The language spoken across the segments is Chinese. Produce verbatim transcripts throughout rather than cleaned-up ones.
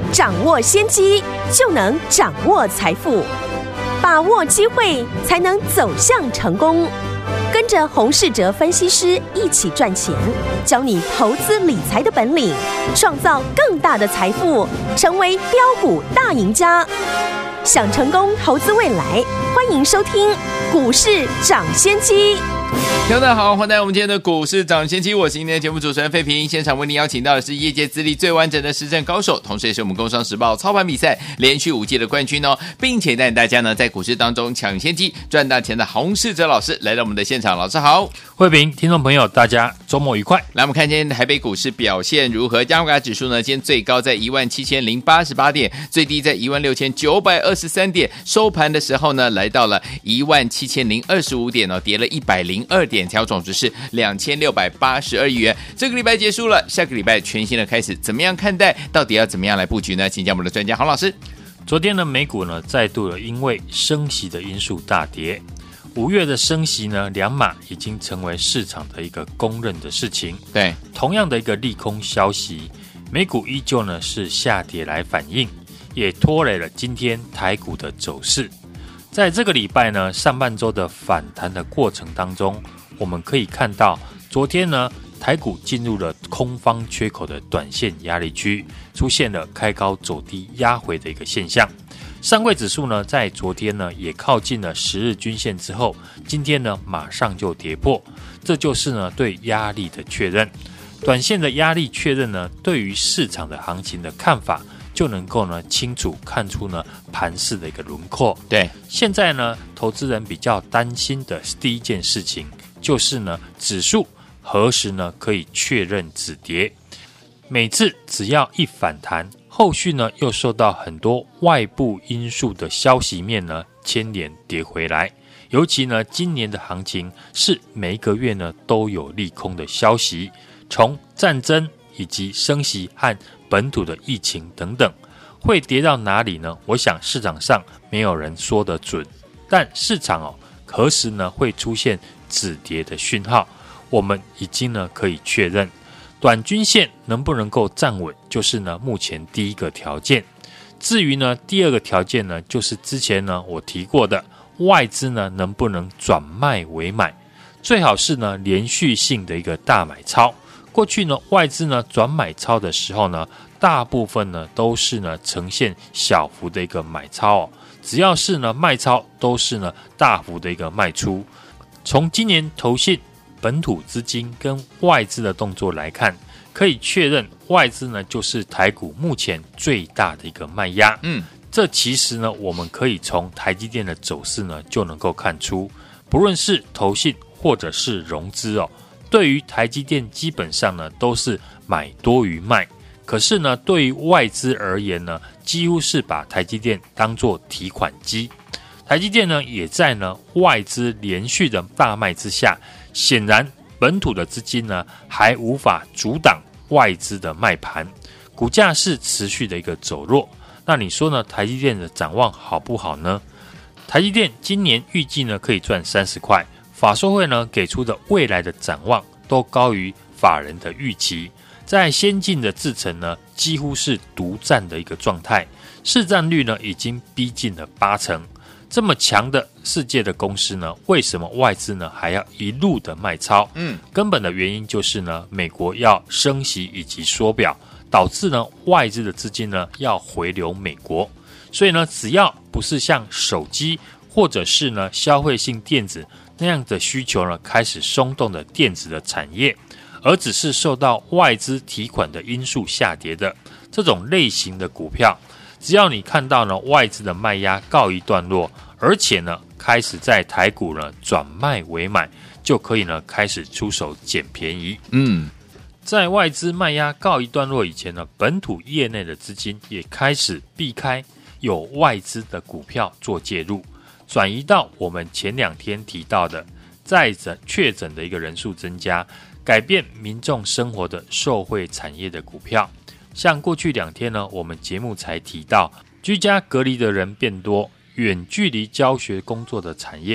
掌握先機，就能掌握財富，把握機會，才能走向成功。跟着洪士哲分析師一起賺錢，教你投資理財的本領，創造更大的財富，成為飆股大贏家。想成功投資未來，歡迎收聽股市漲先機。 聽眾大家好，歡迎來到我們今天的股市漲先機，我是今天的節目主持人費平。現場為您邀請到的是業界資歷最完整的實戰高手，同時也是我們工商時報操盤比賽連續五屆的冠軍哦，並且帶領大家呢在股市當中搶先機賺大錢的洪士哲老師來到我們的現場。老師好。 費平，聽眾朋友大家周末愉快。 來，我們看今天台北股市表現如何？加權指數呢今天最高在一萬七千零八十八點，最低在一萬六千九百二十三點，收盤的時候呢來到了一萬七千零二十五點哦，跌了一百零二點，调总值是两千六百八十二亿元。這個禮拜結束了，下個禮拜全新的開始，怎麼樣看待？到底要怎麼樣來布局呢？請教我們的專家洪老師。 昨天的美股呢再度的因為升息的因素大跌，五月的升息呢兩碼已經成為市場的一個公認的事情。 對， 同樣的一個利空消息，美股依舊呢是下跌來反映，也拖累了今天台股的走勢。在這個禮拜呢上半周的反彈的過程當中，我們可以看到，昨天呢，台股進入了空方缺口的短線壓力區，出現了開高走低壓回的一個現象。上櫃指數呢，在昨天呢，也靠近了十日均線之後，今天呢，馬上就跌破，這就是呢，對壓力的確認。短線的壓力確認呢，對於市場的行情的看法，就能夠呢，清楚看出呢，盤勢的一個輪廓。 對， 現在呢，投資人比較擔心的第一件事情，就是呢，指數何時呢可以確認止跌？每次只要一反彈，後續呢又受到很多外部因素的消息面呢牽連跌回來。尤其呢，今年的行情是每一個月呢都有利空的消息，從戰爭以及升息和本土的疫情等等，會跌到哪裡呢？我想市場上沒有人說得準，但市場哦何時呢會出現止跌的訊號，我們已經呢可以確認，短均線能不能夠站穩，就是呢目前第一個條件。至於呢第二個條件呢，就是之前呢我提過的，外資呢能不能轉賣為買，最好是呢連續性的一個大買超。過去呢外資呢轉買超的時候呢，大部分呢都是呢呈現小幅的一個買超哦，只要是呢賣超，都是呢大幅的一個賣出。從今年投信、本土資金跟外資的動作來看，可以確認外資呢就是台股目前最大的一個賣壓。嗯，這其實呢我們可以從台積電的走勢呢就能夠看出，不論是投信或者是融資哦，對於台積電基本上呢都是買多於賣。可是呢對於外資而言呢，幾乎是把台積電當作提款機。台積電呢，也在呢外資連續的大賣之下，顯然本土的資金呢還無法阻擋外資的賣盤，股價是持續的一個走弱。那你說呢？台積電的展望好不好呢？台積電今年預計呢可以賺三十塊，法說會呢給出的未來的展望都高於法人的預期，在先進的製程呢幾乎是獨佔的一個狀態，市占率呢已經逼近了八成。這麼強的世界的公司呢，為什麼外資呢還要一路的賣超？嗯，根本的原因就是呢，美國要升息以及縮表，導致呢外資的資金呢要回流美國。所以呢，只要不是像手機或者是呢消費性電子那樣的需求呢開始鬆動的電子的產業，而只是受到外資提款的因素下跌的這種類型的股票，只要你看到呢外資的賣壓告一段落，而且呢開始在台股呢轉賣為買，就可以呢開始出手撿便宜。嗯，在外資賣壓告一段落以前呢，本土業內的資金也開始避開有外資的股票做介入，轉移到我們前兩天提到的在診確診的一個人數增加，改變民眾生活的受惠產業的股票。像過去兩天呢，我們節目才提到，居家隔離的人變多，遠距離教學工作的產業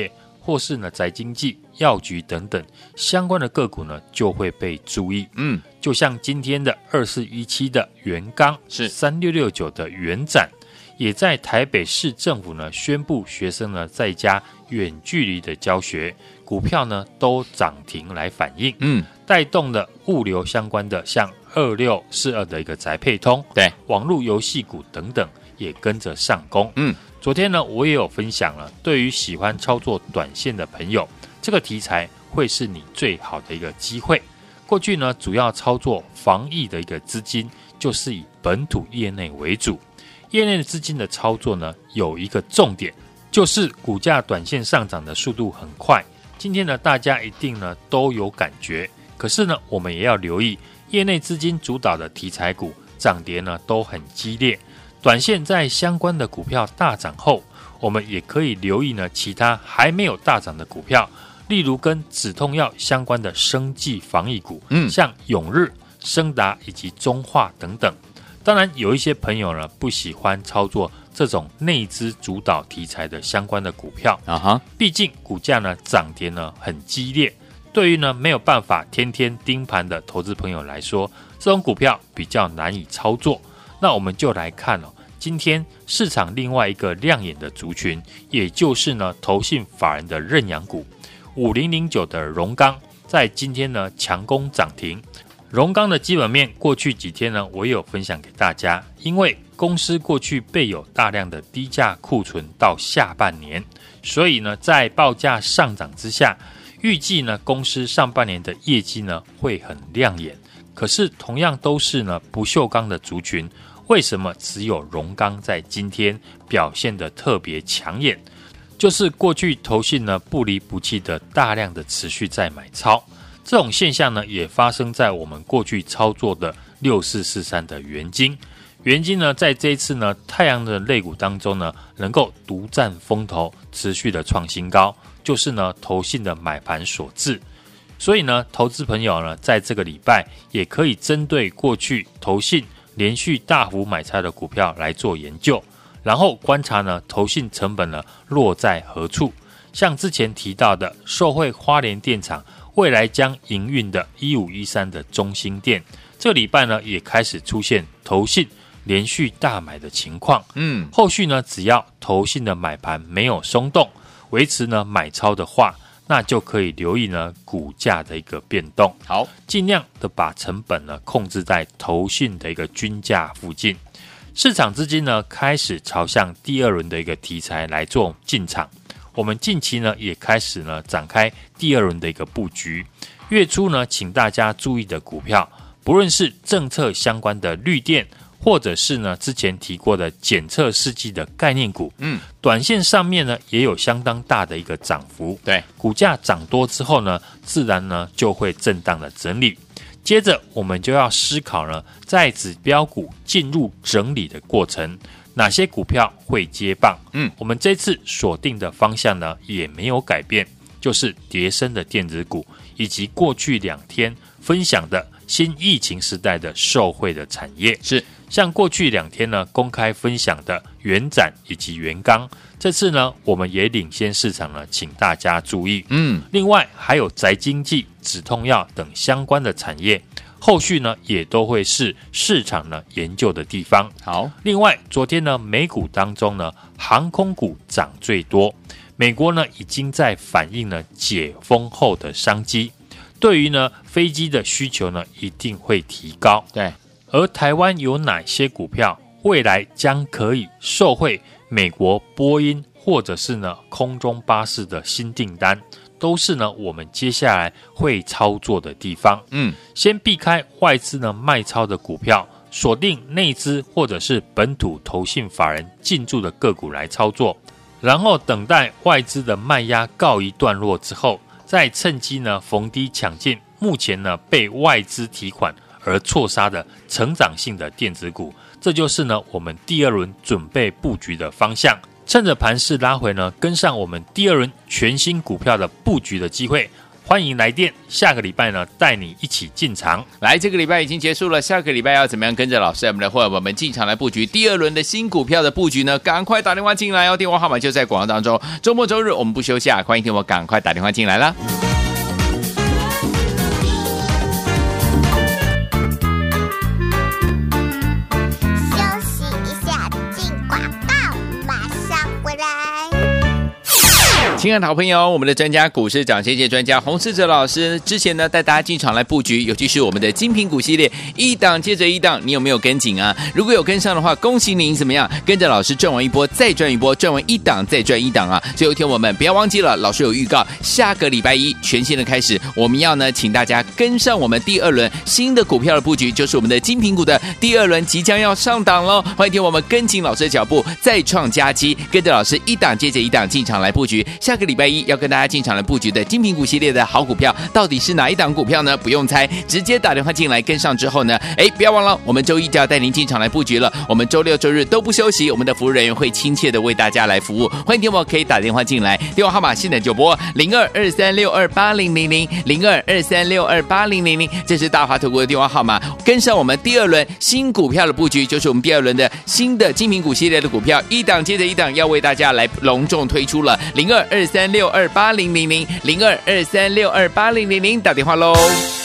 或是呢宅經濟、藥局等等相關的個股呢，就會被注意。嗯，就像今天的二四一七的元剛，是三六六九的元展，也在台北市政府呢宣布學生呢在家遠距離的教學，股票呢都漲停來反映。嗯，帶動了物流相關的，像二六四二的一個宅配通，對，網絡遊戲股等等也跟着上攻。嗯，昨天呢我也有分享了，對於喜歡操作短線的朋友，這個題材會是你最好的一個機會。過去呢主要操作防疫的一個資金，就是以本土業內為主。業內的資金的操作呢，有一個重點，就是股價短線上漲的速度很快。今天呢，大家一定呢都有感覺。可是呢，我們也要留意，業內資金主導的題材股漲跌呢都很激烈。短線在相關的股票大漲後，我們也可以留意呢其他還沒有大漲的股票，例如跟止痛藥相關的生技防疫股，嗯，像永日、昇達以及中化等等。當然，有一些朋友呢不喜歡操作這種內資主導題材的相關的股票啊哈，畢竟股價呢漲跌呢很激烈，對於呢沒有辦法天天盯盤的投資朋友來說，這種股票比較難以操作。那我們就來看哦，今天市場另外一個亮眼的族群，也就是呢投信法人的認養股五零零九的榮剛，在今天呢強攻漲停。榮剛的基本面過去幾天呢，我也有分享給大家，因為公司過去備有大量的低價庫存到下半年，所以呢，在報價上漲之下，預計呢公司上半年的業績呢會很亮眼。可是同樣都是呢不鏽鋼的族群，為什麼只有榮剛在今天表現得特別搶眼？就是過去投信呢不離不棄的大量的持續在買超。這種現象呢，也發生在我們過去操作的六四四三的元晶。元晶呢，在這一次呢，太陽的類股當中呢，能夠獨佔風頭，持續的創新高，就是呢，投信的買盤所致。所以呢，投資朋友呢，在這個禮拜也可以針對過去投信連續大幅買超的股票來做研究，然後觀察呢，投信成本呢落在何處。像之前提到的，受惠花蓮電廠未來將營運的一五一三的中興電，這個禮拜呢也開始出現投信連續大買的情況。嗯，後續呢只要投信的買盤沒有鬆動，維持呢買超的話，那就可以留意呢股價的一個變動。好，盡量的把成本呢控制在投信的一個均價附近。市場資金呢開始朝向第二輪的一個題材來做進場。我們近期呢也開始呢展開第二輪的一個布局。月初呢，請大家注意的股票，不論是政策相關的綠電，或者是呢之前提過的檢測試劑的概念股，嗯，短線上面呢也有相當大的一個漲幅。對，股價漲多之後呢，自然呢就會震盪的整理。接着我們就要思考呢，在指標股進入整理的過程，哪些股票會接棒？嗯，我們這次鎖定的方向呢也沒有改變，就是跌深的電子股，以及過去兩天分享的新疫情時代的受惠的產業。是，像過去兩天呢公開分享的元展以及元剛，這次呢我們也領先市場呢，請大家注意。嗯，另外還有宅經濟、止痛藥等相關的產業。後續呢也都會是市場呢研究的地方。好，另外昨天呢美股當中呢航空股漲最多，美國呢已經在反映呢解封後的商機，對於呢飛機的需求呢一定會提高。對，而台灣有哪些股票未來將可以受惠美國波音或者是呢空中巴士的新訂單，都是呢我們接下來會操作的地方。嗯，先避開外資呢賣超的股票，鎖定內資或者是本土投信法人進駐的個股來操作，然後等待外資的賣壓告一段落之後，再趁機呢逢低搶進目前呢被外資提款而錯殺的成長性的電子股。這就是呢我們第二輪準備布局的方向。趁着盤勢拉回呢，跟上我們第二輪全新股票的布局的機會， 歡迎來電，下個禮拜呢帶你一起進場。 來，這個禮拜已經結束了，下個禮拜要怎麼樣跟着老師我們的夥伴們進場來布局第二輪的新股票的布局呢？趕快打電話進來哦，電話號碼就在廣告當中。週末週日我們不休息啊，歡迎聽我趕快打電話進來啦。親愛的好朋友，我們的專家股市漲先機專家洪士哲老師之前呢帶大家進場來布局，尤其是我們的精品股系列，一檔接着一檔，你有沒有跟緊啊？如果有跟上的話，恭喜您怎麼樣？跟着老師賺完一波再賺一波，賺完一檔再賺一檔啊！最後一天我們不要忘記了，老師有預告，下個禮拜一全新的開始，我們要呢請大家跟上我們第二輪新的股票的布局，就是我們的精品股的第二輪即將要上檔嘍！歡迎聽我們跟緊老師的腳步，再創佳績，跟着老師一檔接着一檔進場來布局。下個禮拜一要跟大家進場來布局的精品股系列的好股票，到底是哪一檔股票呢？不用猜，直接打電話進來跟上之後呢，哎，不要忘了，我們周一就要帶您進場來布局了。我們周六周日都不休息，我們的服務人員會親切的為大家來服務。歡迎電話可以打電話進來，電話號碼現在就撥零二二三六二八零零零零二二三六二八零零零，這是大華投顧的電話號碼。跟上我們第二輪新股票的布局，就是我們第二輪的新的精品股系列的股票，一檔接着一檔要為大家來隆重推出了零二二三六二八零零零零二二三六二八零零零，打電話嘍。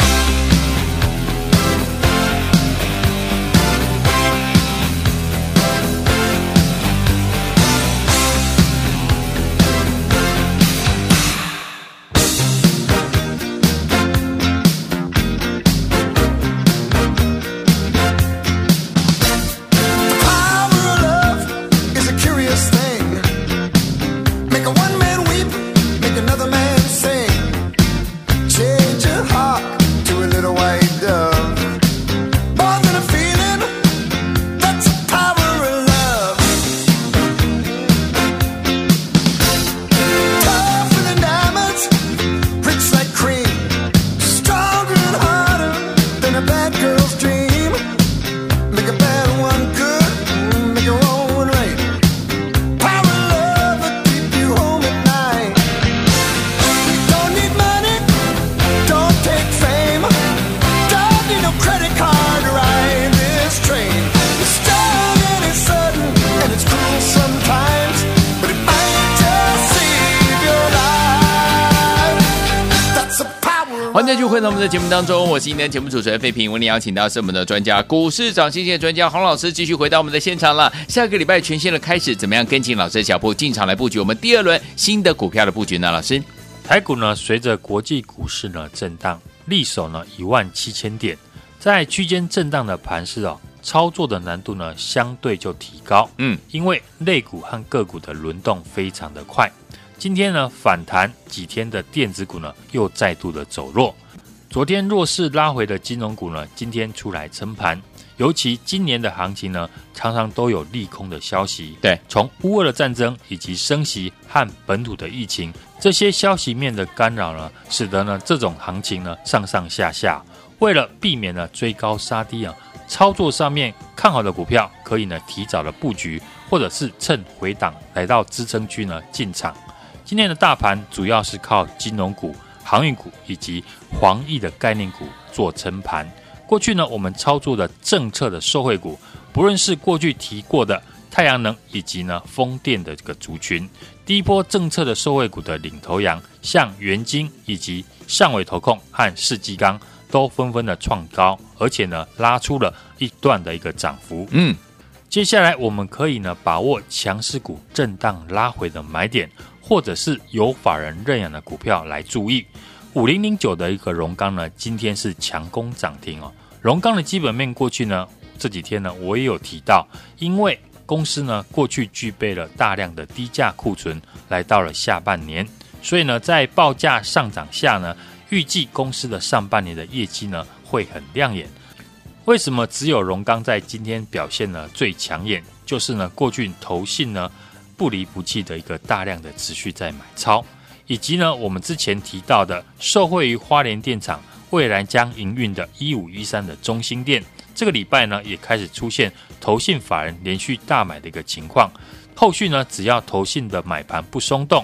歡迎繼續回到我們的節目當中，我是今天的節目主持人費平。為您邀請到是我們的專家股市漲先機的專家洪老師，繼續回到我們的現場了。下個禮拜全新的開始，怎麼樣跟緊老師的腳步進場來布局我們第二輪新的股票的布局呢？老師， 台股呢隨着國際股市呢震盪，力守呢一萬七千點，在區間震盪的盤勢哦，操作的難度呢相對就提高。嗯，因為類股和個股的輪動非常的快。今天呢反彈幾天的電子股呢又再度的走弱，昨天弱勢拉回的金融股呢今天出來撐盤，尤其今年的行情呢常常都有利空的消息，對，從烏俄的戰爭以及升息和本土的疫情這些消息面的干擾呢，使得呢這種行情呢上上下下，為了避免呢追高殺低啊，操作上面看好的股票可以呢提早的布局，或者是趁回檔來到支撐區呢進場。今天的大盤主要是靠金融股、航運股以及防疫的概念股做撐盤。過去呢，我們操作的政策的受惠股，不論是過去提過的太陽能以及呢風電的這個族群，第一波政策的受惠股的領頭羊，像元晶以及上緯投控和世紀鋼都紛紛的創高，而且呢拉出了一段的一個漲幅。嗯，接下來我們可以呢把握強勢股震盪拉回的買點，或者是有法人認養的股票來注意。五零零九的一個榮剛呢，今天是強攻漲停哦。榮剛的基本面過去呢這幾天呢我也有提到，因為公司呢過去具備了大量的低價庫存，來到了下半年，所以呢在報價上漲下呢，預計公司的上半年的業績呢會很亮眼。為什麼只有榮剛在今天表現呢最搶眼？就是呢過去投信呢不離不棄的一個大量的持續在買超，以及呢我們之前提到的受惠於花蓮電廠未來將營運的一五一三的中興電，這個禮拜呢也開始出現投信法人連續大買的一個情況。後續呢只要投信的買盤不鬆動，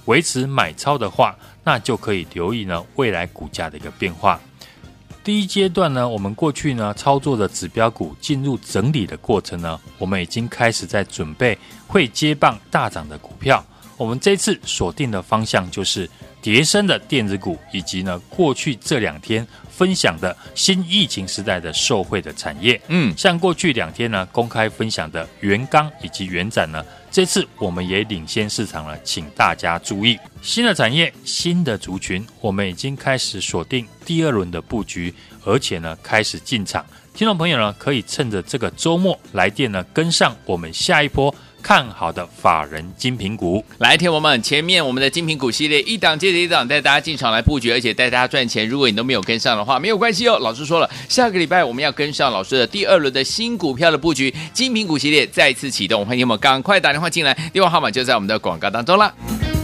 維持買超的話，那就可以留意呢未來股價的一個變化。第一階段呢，我們過去呢操作的指標股進入整理的過程呢，我們已經開始在準備會接棒大漲的股票。我們這次鎖定的方向就是跌深的電子股，以及呢過去這兩天分享的新疫情時代的受惠的產業。嗯，像過去兩天呢公開分享的元剛以及元展呢，這次我們也領先市場了，請大家注意新的產業、新的族群，我們已經開始鎖定第二輪的布局，而且呢開始進場。聽眾朋友呢可以趁着這個週末來電呢跟上我們下一波看好的法人精品股。 來，聽我們前面我們的精品股系列一檔接着一檔帶大家進場來布局，而且帶大家賺錢。如果你都沒有跟上的話，沒有關係哦。老師說了，下個禮拜我們要跟上老師的第二輪的新股票的布局，精品股系列再次啟動。歡迎我們趕快打電話進來，電話號碼就在我們的廣告當中啦。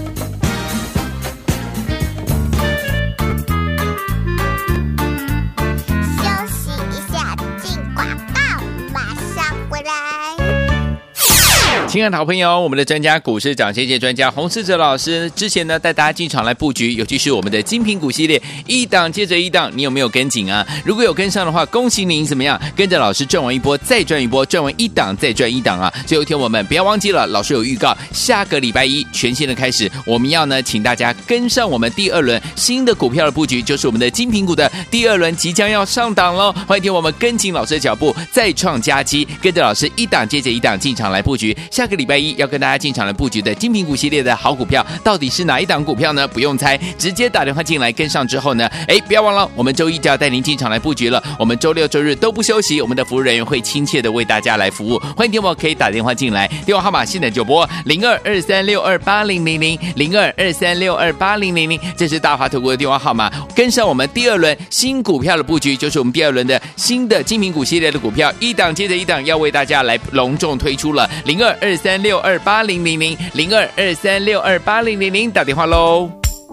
親愛的好朋友，我們的專家股市漲先見專家洪士哲老師之前呢帶大家進場來布局，尤其是我們的精品股系列一檔接着一檔，你有沒有跟緊啊？如果有跟上的話，恭喜您怎麼樣？跟着老師賺完一波再賺一波，賺完一檔再賺一檔啊！最後一天我們不要忘記了，老師有預告，下個禮拜一全新的開始，我們要呢請大家跟上我們第二輪新的股票的布局，就是我們的精品股的第二輪即將要上檔嘍！歡迎聽我們跟緊老師的腳步，再創佳績，跟着老師一檔接着一檔進場來布局。下個禮拜一要跟大家進場來布局的精品股系列的好股票，到底是哪一檔股票呢？不用猜，直接打電話進來跟上之後呢，哎，不要忘了，我們周一就要帶您進場來布局了。我們周六周日都不休息，我們的服務人員會親切的為大家來服務。歡迎聽我可以打電話進來，電話號碼現在就撥零二二三六二八零零零零二二三六二八零零零，這是大華投顧的電話號碼。跟上我們第二輪新股票的布局，就是我們第二輪的新的精品股系列的股票，一檔接着一檔要為大家來隆重推出了零二二三六二八零零零零二二三六二八零零零，打電話嘍。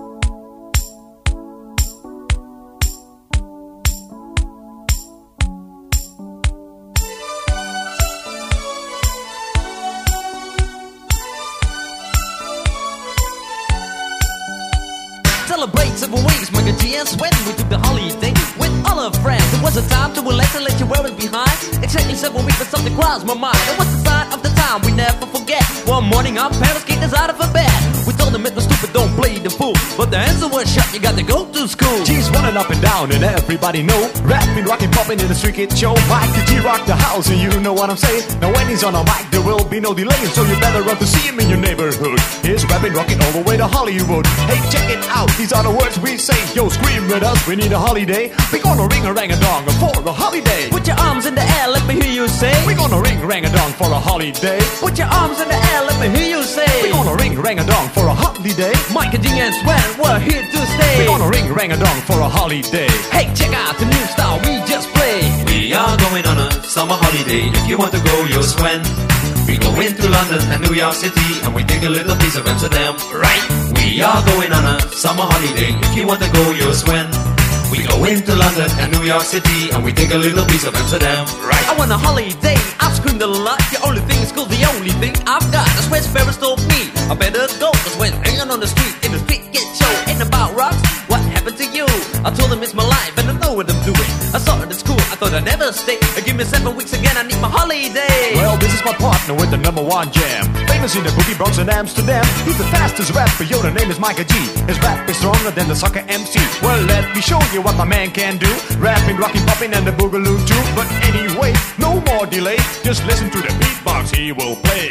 Celebrate seven weeks, make a chance when we took the holiday with all our friends. It was a time to relax and let you wear it behind. Exactly seven weeks, but something crossed my mind. It was the sign of the time we never forget. One morning, our parents kicked us out of bed. We told them it was stupid, don't play the fool. But the answer was shut, you got to go to school. G's running up and down, and everybody know. Rapping, rocking, popping in the street kid show. Mike the G rock the house, and you know what I'm saying. Now when he's on a mic, there will be no delay, so you better run to see him in your neighborhood. He's rapping, rocking all the way to Hollywood. Hey, check it out, these are the words we say. Yo, scream with us, we need a holiday. We gonna ring a rang a dong for a holiday. Put your arms in the air, let me hear you say. We gonna ring rang a dong for a holiday. Put your arms in the air, let me hear you say. We gonna ring rang a dong for a holiday. Mike and G and Sven, we're here to stay. We gonna ring rang a dong for a holiday. Hey, check out the new style we just played. We are going on a summer holiday. If you want to go, you'll Sven. We go into London and New York City, and we take a little piece of Amsterdam, right? We are going on a summer holiday. If you want to go, you'll Sven. We go into London and New York City, and we take a little piece of Amsterdam, right? I want a holiday, I've screamed a lot. The only thing is cool, the only thing I've got. That's where Sparrows told me I better go. Cause when hanging on the street, in the street get show. Ain't about rocks, what happened to you? I told him it's my life and I know what I'm doing. I saw it at school, I thought I'd never stay. Give me seven weeks again, I need my holiday. Well, this is my partner with the number one jam. Famous in the boogie Bronx and Amsterdam. He's the fastest rapper, yo, the name is Micah G. His rap is stronger than the soccer M C. Well, let me show you what my man can do. Rapping, rocking, popping, and the boogaloo too. But anyway, no more delay. Just listen to the beatbox he will play.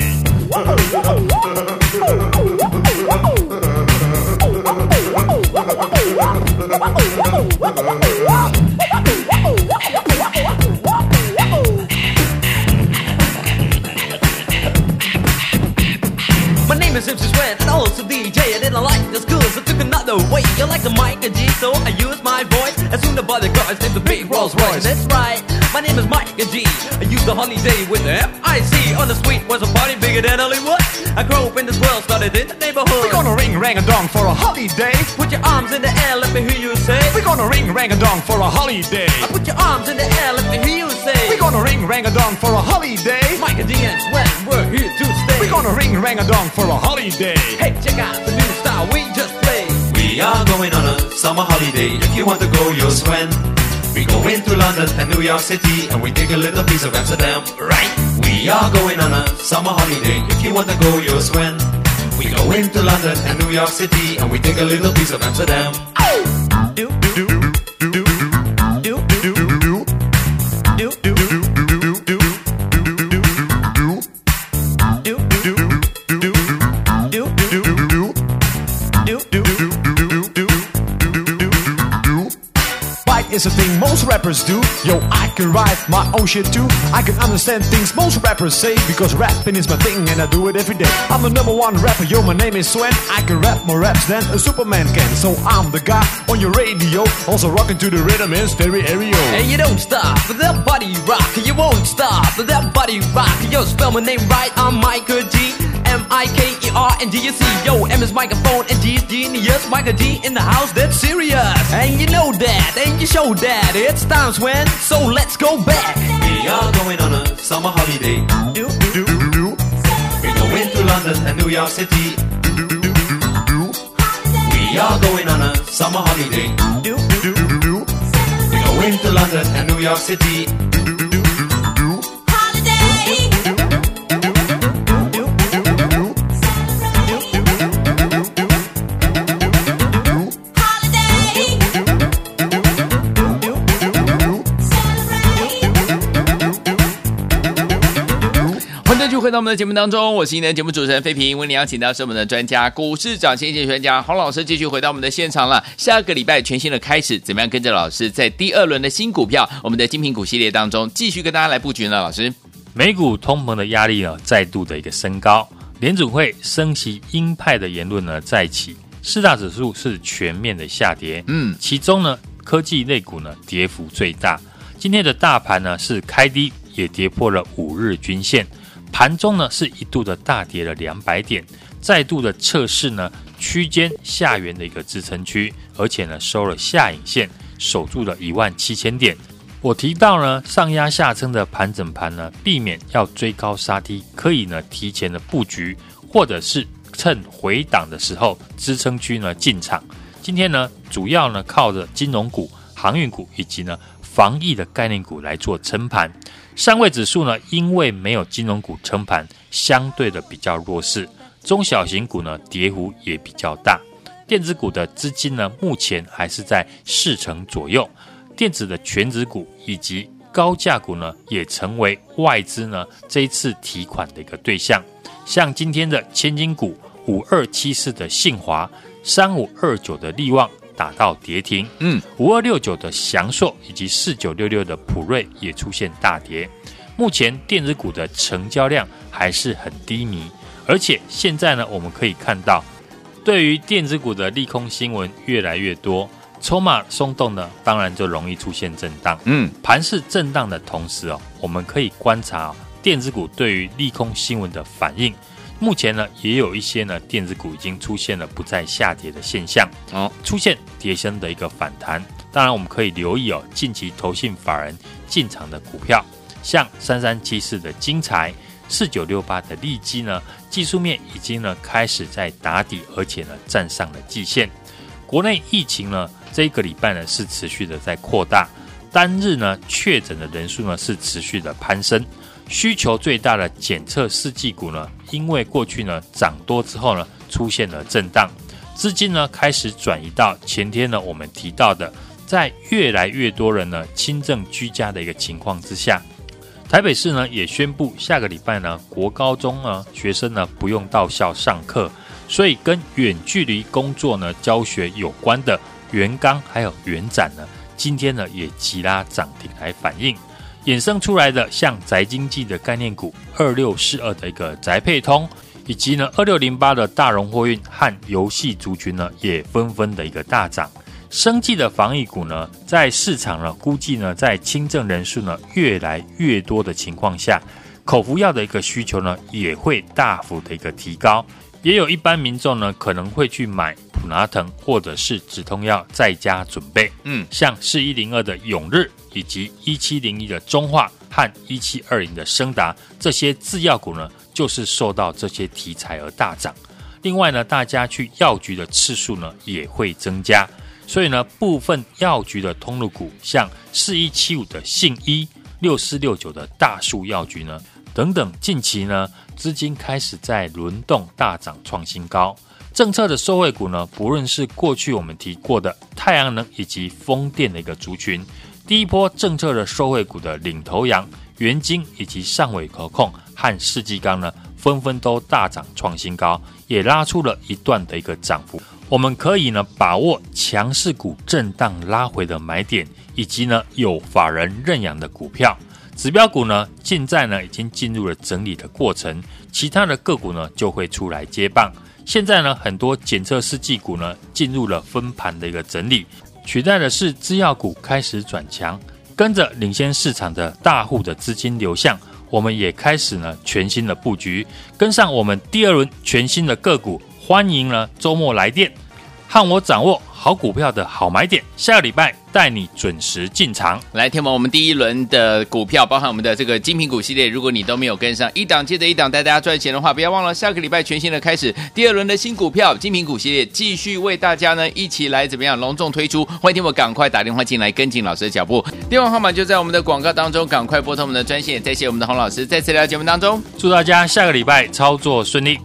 My name is Simpson Sven and also D J. I didn't like the school, so took another way. You like the Mike and G, so I used my voice. As soon as I bought the car, I named the big Rolls Royce. That's right, my name is Mike and G. I used the holiday with the F I C. On the street was a party bigger than Hollywood. I grew up in this world, started in the neighborhood. We're gonna ring rang a dong for a holiday. Put your arms in the air, let me hear you say. We're gonna ring rang a dong for a holiday. I put your arms in the air, let me hear you say. We're gonna ring rang a dong for a holiday. Mike and D and Sven, we're here to stay. We're gonna ring rang a dong for a holiday. Hey, check out the new style now we just play. We are going on a summer holiday. If you want to go, you'll swim. We go into London and New York City, and we take a little piece of Amsterdam, right? We are going on a summer holiday. If you want to go, you'll swim. We go into London and New York City, and we take a little piece of Amsterdam. Do, do, do, do, do, do, do, do, do, do, do. Is a thing most rappers do. Yo, I can write my own shit too. I can understand things most rappers say, because rapping is my thing and I do it every day. I'm the number one rapper, yo, my name is Sven. I can rap more raps than a Superman can. So I'm the guy on your radio, also rocking to the rhythm in stereo. And you don't stop with that body rock. You won't stop with that body rock. Yo, spell my name right, I'm Michael G. M I K E R N D U C. Yo, M is microphone and G is genius. Michael G in the house, that's serious. And you know that, and you show that. It's times when, so let's go back. We are going on a summer holiday. Do, do, do, do. We go into London and New York City. Do, do, do, do. We are going on a summer holiday. Do, do, do, do. We go into London and New York City. 回到我們的節目當中，我是今天的節目主持人費平。為您邀請到是我們的專家股市漲先機專家洪老師，繼續回到我們的現場了。下個禮拜全新的開始，怎麼樣跟着老師在第二輪的新股票，我們的精品股系列當中繼續跟大家來布局呢？老師， 美股通膨的壓力呢再度的一個升高，聯準會升息鷹派的言論呢再起，四大指數是全面的下跌。嗯，其中呢科技類股呢跌幅最大。今天的大盤呢是開低，也跌破了五日均線。盤中呢是一度的大跌了兩百點，再度的測試呢區間下緣的一個支撐區，而且呢收了下影線，守住了一萬七千點。我提到呢上壓下撐的盤整盤呢，避免要追高殺低，可以呢提前的布局，或者是趁回檔的時候支撐區呢進場。今天呢主要呢靠着金融股、航運股以及呢防疫的概念股來做撐盤。上櫃指數呢，因為沒有金融股撐盤，相對的比較弱勢，中小型股呢跌幅也比較大。電子股的資金呢，目前還是在四成左右。電子的權值股以及高價股呢，也成為外資呢這一次提款的一個對象。像今天的千金股五二七四的信華、三五二九的力旺打到跌停，嗯，五二六九的祥碩以及四九六六的普瑞也出現大跌。目前電子股的成交量還是很低迷，而且現在呢，我們可以看到，對於電子股的利空新聞越來越多，籌碼鬆動呢，當然就容易出現震盪。嗯，盤勢震盪的同時哦，我們可以觀察哦，電子股對於利空新聞的反應。目前呢，也有一些呢電子股已經出現了不再下跌的現象，哦，出現跌升的一個反彈。當然，我們可以留意哦，近期投信法人進場的股票，像三三七四的精材、四九六八的利基呢，技術面已經呢開始在打底，而且呢站上了季線。國內疫情呢，這一個禮拜呢是持續的在擴大，單日呢確診的人數呢是持續的攀升。需求最大的檢測試劑股呢，因為過去呢漲多之後呢，出現了震盪，資金呢開始轉移到前天呢我們提到的，在越來越多人呢輕症居家的一個情況之下，台北市呢也宣布下個禮拜呢國高中呢學生呢不用到校上課，所以跟遠距離工作呢教學有關的元剛還有元展呢，今天呢也急拉漲停來反映。衍生出來的像宅經濟的概念股二六四二的一個宅配通，以及呢二六零八的大榮貨運和遊戲族群呢也紛紛的一個大漲。生技的防疫股呢，在市場呢估計呢在輕症人數呢越來越多的情況下，口服藥的一個需求呢也會大幅的一個提高。也有一般民眾呢可能會去買普拿疼或者是止痛藥在家準備，嗯，像四一零二的永日以及一七零一的中化和一七二零的昇達，這些製藥股呢就是受到這些題材而大漲。 另外呢，大家去藥局的次數呢也會增加，所以呢，部分藥局的通路股，像四一七五的信一、六四六九的大樹藥局呢等等，近期呢資金開始在輪動大漲創新高。政策的受惠股呢，不論是過去我們提過的太陽能以及風電的一個族群，第一波政策的受惠股的領頭羊元晶以及上緯投控和世紀鋼呢，紛紛都大漲創新高，也拉出了一段的一個漲幅。我們可以呢把握強勢股震盪拉回的買點，以及呢有法人認養的股票。指標股呢現在呢已經進入了整理的過程，其他的個股呢就會出來接棒。現在呢很多檢測試劑股呢進入了分盤的一個整理，取代的是資藥股開始轉強，跟着領先市場的大戶的資金流向，我們也開始呢全新的布局，跟上我們第二輪全新的個股。歡迎呢周末來電，和我掌握好股票的好買點，下個禮拜帶你準時進場。 來，天王，我們第一輪的股票，包含我們的這個精品股系列，如果你都沒有跟上，一檔接着一檔帶大家賺錢的話，不要忘了下個禮拜全新的開始，第二輪的新股票精品股系列繼續為大家呢一起來怎麼樣隆重推出。歡迎天王趕快打電話進來跟緊老師的腳步，電話號碼就在我們的廣告當中，趕快撥通我們的專線。再謝我們的洪老師再次來到節目當中， 祝大家下個禮拜操作順利。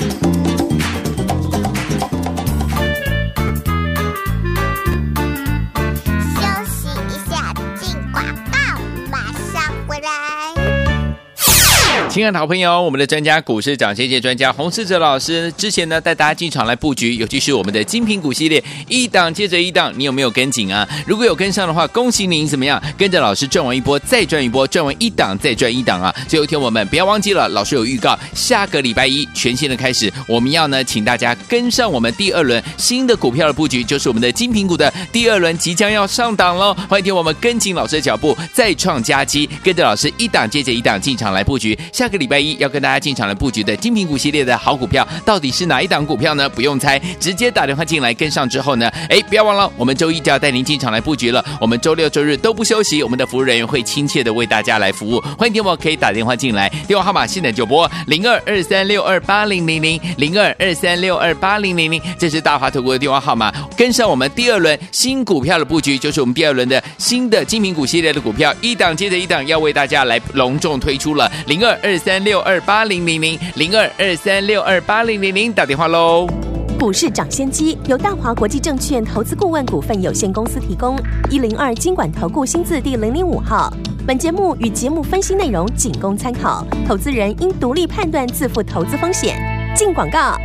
親愛的好朋友，我們的專家股市漲先機專家洪士哲老師之前呢帶大家進場來布局，尤其是我們的精品股系列，一檔接着一檔，你有沒有跟緊啊？如果有跟上的話，恭喜您怎麼樣？跟着老師賺完一波再賺一波，賺完一檔再賺一檔啊！最後一天我們不要忘記了，老師有預告，下個禮拜一全新的開始，我們要呢請大家跟上我們第二輪新的股票的布局，就是我們的精品股的第二輪即將要上檔嘍！歡迎聽我們跟緊老師的腳步，再創佳績，跟着老師一檔接着一檔進場來布局。下個禮拜一要跟大家進場來布局的精品股系列的好股票，到底是哪一檔股票呢？不用猜，直接打電話進來跟上之後呢，哎，不要忘了，我們周一就要帶您進場來布局了。我們周六周日都不休息，我們的服務人員會親切的為大家來服務。歡迎電話可以打電話進來，電話號碼現在就撥零二二三六二八零零零零二二三六二八零零零，這是大華投顧的電話號碼。跟上我們第二輪新股票的布局，就是我們第二輪的新的精品股系列的股票，一檔接着一檔要為大家來隆重推出了零二二三六二八零零零零二二三六二八零零零，打電話嘍。 股市漲先機由大華國際證券投資顧問股份有限公司提供，一零二金管投顧新字第零零五號。本節目與節目分析內容僅供參考，投資人應獨立判斷，自負投資風險。進廣告。